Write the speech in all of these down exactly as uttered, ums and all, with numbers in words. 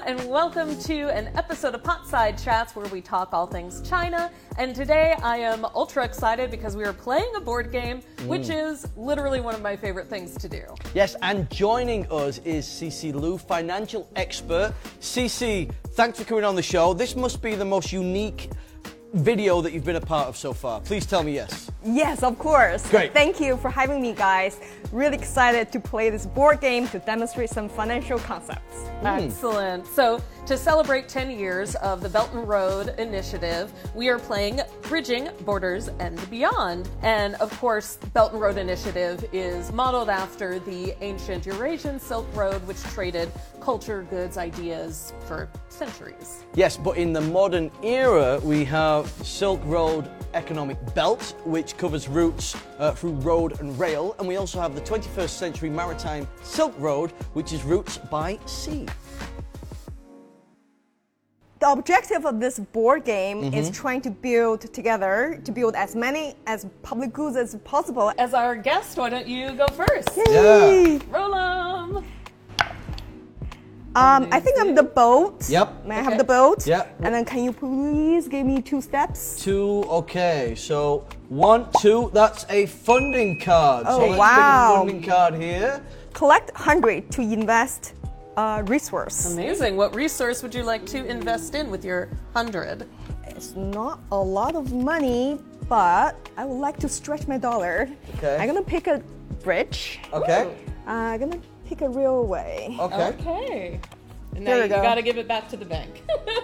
and welcome to an episode of Potside Chats where we talk all things China. And today I am ultra excited because we are playing a board game, which mm. is literally one of my favorite things to do. Yes, and joining us is Cici Liu, financial expert. Cici, thanks for coming on the show. This must be the most unique video that you've been a part of so far. Please tell me yes. Yes, of course. Great. Thank you for having me, guys. Really excited to play this board game to demonstrate some financial concepts. Mm. Excellent. So, to celebrate ten years of the Belt and Road Initiative, we are playing Bridging Borders and Beyond. And of course, Belt and Road Initiative is modeled after the ancient Eurasian Silk Road, which traded culture, goods, ideas for centuries. Yes, but in the modern era, we have Silk Road Economic Belt, which covers routes uh, through road and rail. And we also have the twenty-first century Maritime Silk Road, which is routes by sea. The objective of this board game mm-hmm. is trying to build together, to build as many as public goods as possible. As our guest, why don't you go first? Yay! Yeah. Roll 'em! Um, I think I'm the boat. Yep. May I okay. have the boat? Yep. And then can you please give me two steps? Two, okay. So one, two, that's a funding card. Oh, so let's wow. pick a funding card here. Collect one hundred to invest a resource. Amazing. What resource would you like to invest in with your hundred? It's not a lot of money, but I would like to stretch my dollar. Okay. I'm gonna pick a bridge. Okay. Uh, I'm gonna pick a railway. Okay. Okay. And now There you, we go. you gotta give it back to the bank.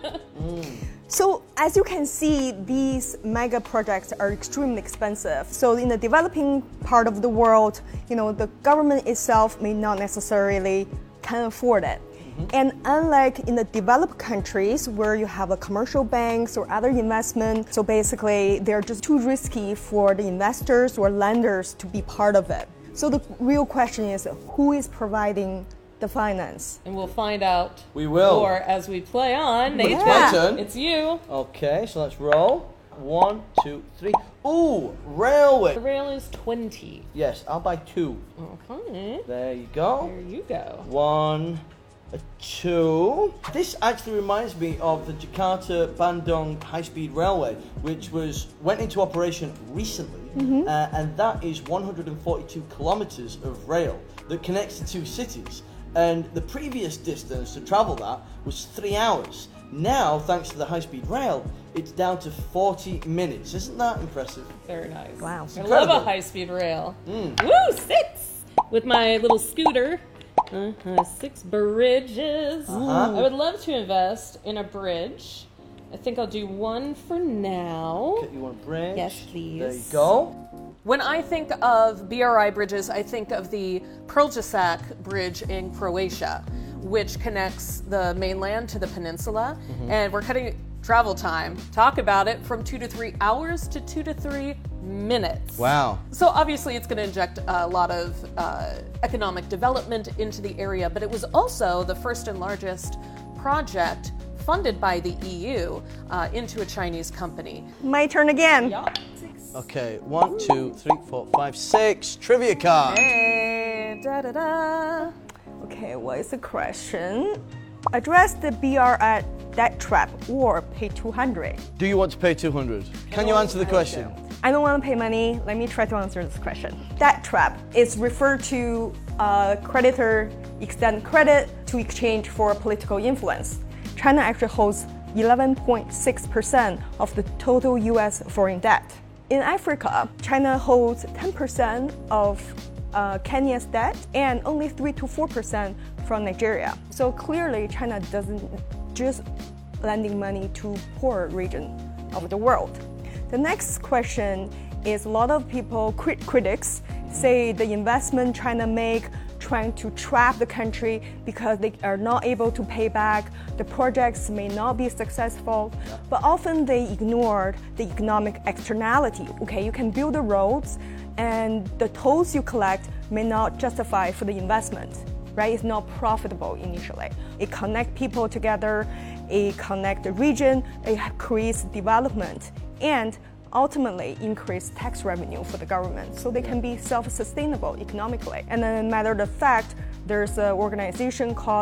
mm. So as you can see, these mega projects are extremely expensive. So in the developing part of the world, you know, the government itself may not necessarily can afford it. Mm-hmm. And unlike in the developed countries where you have a commercial banks or other investment, so basically they're just too risky for the investors or lenders to be part of it. So the real question is, who is providing the finance? And we'll find out We will. more as we play on. But Nathan, it's my turn. It's you. Okay, so let's roll. One, two, three. Ooh, The railway. rail is twenty. Yes, I'll buy two. Okay. There you go. There you go. One, a two. This actually reminds me of the Jakarta-Bandung high-speed railway, which was went into operation recently, mm-hmm. uh, and that is one hundred forty-two kilometers of rail that connects the two cities. And the previous distance to travel that was three hours. Now, thanks to the high-speed rail, it's down to forty minutes. Isn't that impressive? Very nice. Wow. I Incredible. love a high-speed rail. Mm. Woo, six! With my little scooter. Uh-huh, six bridges. Uh-huh. I would love to invest in a bridge. I think I'll do one for now. Okay, you want a bridge? Yes, please. There you go. When I think of B R I bridges, I think of the Prljačac Bridge in Croatia, which connects the mainland to the peninsula. Mm-hmm. And we're cutting travel time. Talk about it, from two to three hours to two to three minutes. Wow. So obviously it's going to inject a lot of uh, economic development into the area, but it was also the first and largest project funded by the E U uh, into a Chinese company. My turn again. Yeah. Okay, one, two, three, four, five, six. Trivia card. Hey, da da da. Okay, what is the question? Address the B R I debt trap or pay two hundred. Do you want to pay two hundred? Can you answer the question? I don't want to pay money. Let me try to answer this question. Debt trap is referred to a creditor extend credit to exchange for political influence. China actually holds eleven point six percent of the total U S foreign debt. In Africa, China holds ten percent of uh, Kenya's debt and only three to four percent from Nigeria. So clearly, China doesn't just lending money to poor region of the world. The next question is, a lot of people, crit- critics, say the investment China make trying to trap the country because they are not able to pay back, the projects may not be successful, but often they ignored the economic externality. Okay, you can build the roads and the tolls you collect may not justify for the investment, right? It's not profitable initially. It connects people together, it connects the region, it creates development, and ultimately increase tax revenue for the government so they can be self-sustainable economically. And then matter of fact, there's an organization called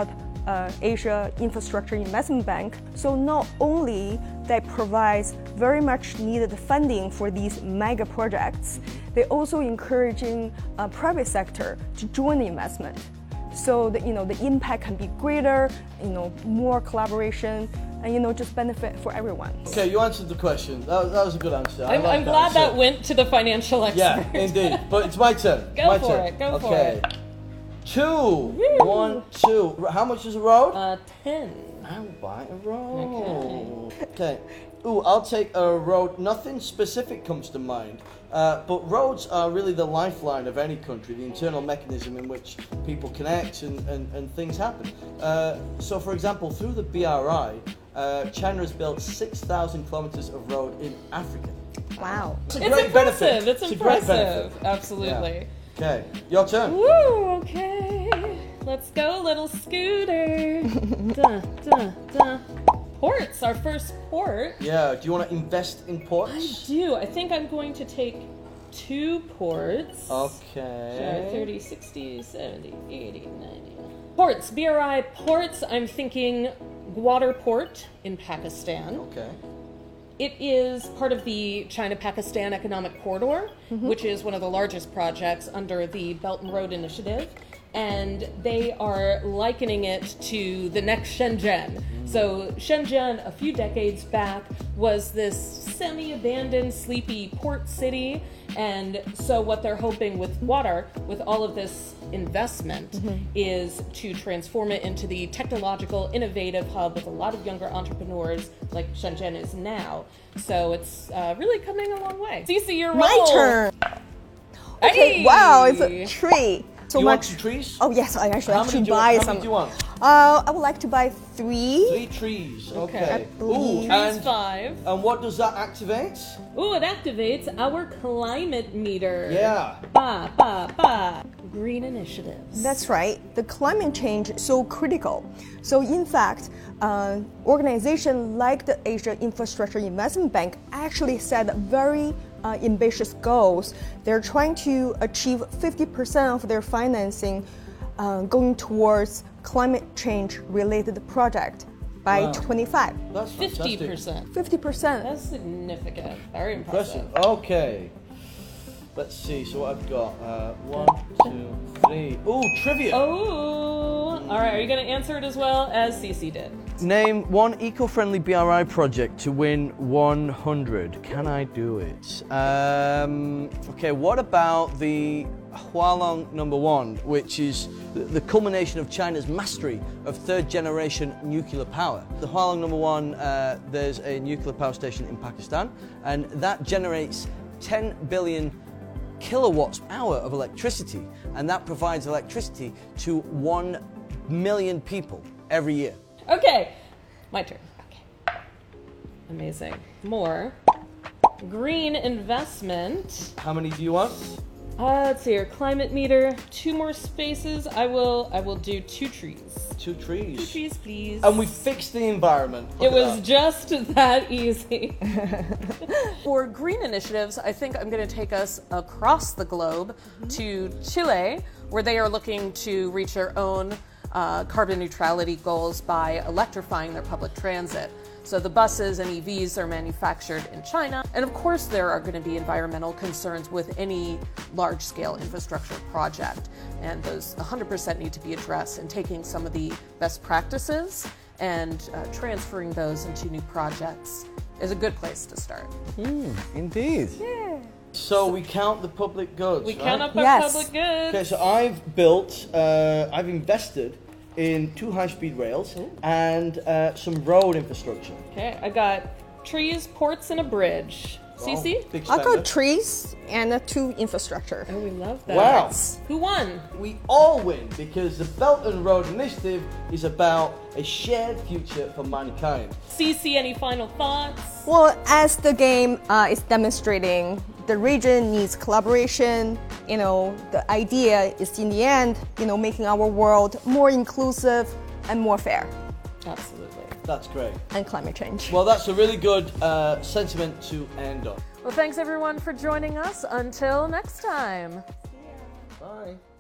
uh, Asia Infrastructure Investment Bank. So not only that provides very much needed funding for these mega projects, they also encouraging uh, private sector to join the investment. So that you know the impact can be greater, you know, more collaboration, and you know just benefit for everyone. Okay, you answered the question. That was, that was a good answer. I'm, like I'm glad answer. that went to the financial expert. Yeah, indeed. But it's my turn. Go my for turn. it, go for okay. it. Two. Woo. One, two. How much is a road? Uh, ten. I'll buy a road. Okay. okay. Ooh, I'll take a road. Nothing specific comes to mind. Uh, but roads are really the lifeline of any country, the internal mechanism in which people connect and, and, and things happen. Uh, so, for example, through the B R I, uh, China has built six thousand kilometers of road in Africa. Wow. It's a It's great impressive. benefit. It's, a great impressive. benefit. Absolutely. Yeah. Okay, your turn. Woo, okay. Let's go, little scooter. Duh, duh, duh. Ports, our first port. Yeah, do you want to invest in I ports? do. I think I'm going to take two ports. Okay. Sure, thirty, sixty, seventy, eighty, ninety. Ports, B R I ports. I'm thinking Gwadar Port in Pakistan. Okay. It is part of the China-Pakistan Economic Corridor, mm-hmm. which is one of the largest projects under the Belt and Road Initiative. And they are likening it to the next Shenzhen. Mm. So Shenzhen, a few decades back, was this semi-abandoned, sleepy port city. And so what they're hoping with Gwadar, with all of this investment, mm-hmm. is to transform it into the technological, innovative hub with a lot of younger entrepreneurs like Shenzhen is now. So it's uh, really coming a long way. Cece, your My role. turn. Okay, Hey. wow, it's a tree. So you much. want some trees? Oh yes, I actually How have many to do you buy want? How some. many do you want? Uh, I would like to buy three. Three trees. Okay. Okay. I Ooh, believe- Trees and, five. and what does that activate? Ooh, it activates our climate meter. Yeah. Ba, ba, ba. Green initiatives. That's right. The climate change is so critical. So in fact, uh, organizations like the Asia Infrastructure Investment Bank actually set very uh, ambitious goals. They're trying to achieve fifty percent of their financing uh, going towards climate change related project by Wow. twenty-five. That's fifty fantastic. percent. fifty percent. That's significant. Very impressive. Impressive. Okay. Let's see. So what I've got. Uh, one, two, three. Ooh, trivia. Oh, all right. Are you going to answer it as well as Cece did? Name one eco-friendly B R I project to win one hundred. Can I do it? Um, okay, what about the Hualong number one, which is the, the culmination of China's mastery of third-generation nuclear power. The Hualong number one, uh, there's a nuclear power station in Pakistan, and that generates ten billion kilowatts hour of electricity, and that provides electricity to one million people every year. Okay, my turn. Okay. Amazing. More. Green investment. How many do you want? Uh, let's see here. Climate meter. Two more spaces. I will. I will do two trees. Two trees. Two trees, please. And we fixed the environment. Look It at was that. just that easy. For green initiatives, I think I'm going to take us across the globe mm-hmm. to Chile, where they are looking to reach their own uh, carbon neutrality goals by electrifying their public transit. So the buses and E Vs are manufactured in China. And of course, there are going to be environmental concerns with any large-scale infrastructure project. And those one hundred percent need to be addressed, and taking some of the best practices and uh, transferring those into new projects is a good place to start. Mm, indeed. Yeah. So we count the public goods, We right? count up our Yes. public goods. Okay, so I've built, uh, I've invested in two high-speed rails Ooh. and uh, some road infrastructure. Okay, I got trees, ports, and a bridge. Cece? Wow, big I'll go spender. trees and uh, two infrastructure. Oh, we love that. Wow. Who won? We all win because the Belt and Road Initiative is about a shared future for mankind. Cece, any final thoughts? Well, as the game uh, is demonstrating, the region needs collaboration. You know, the idea is in the end, you know, making our world more inclusive and more fair. Absolutely. That's great. And climate change. Well, that's a really good uh, sentiment to end on. Well, thanks everyone for joining us. Until next time. Bye.